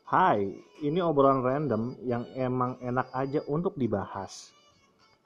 Hai, ini obrolan random yang emang enak aja untuk dibahas.